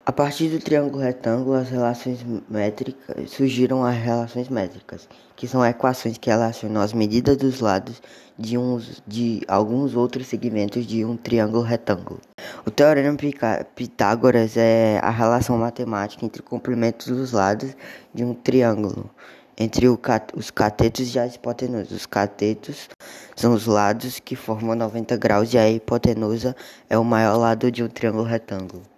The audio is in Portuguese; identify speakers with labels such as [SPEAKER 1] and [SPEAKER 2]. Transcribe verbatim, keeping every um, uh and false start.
[SPEAKER 1] A partir do triângulo retângulo, as relações métricas surgiram as relações métricas, que são equações que relacionam as medidas dos lados de, uns, de alguns outros segmentos de um triângulo retângulo. O teorema Pitágoras é a relação matemática entre comprimentos dos lados de um triângulo, entre os catetos e a hipotenusa. Os catetos são os lados que formam noventa graus e a hipotenusa é o maior lado de um triângulo retângulo.